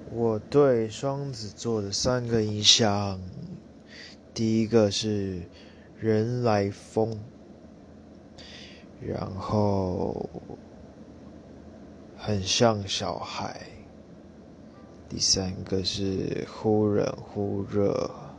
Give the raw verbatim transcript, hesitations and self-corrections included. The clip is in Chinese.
我对双子座的三个印象，第一个是人来疯，然后很像小孩，第三个是忽冷忽热，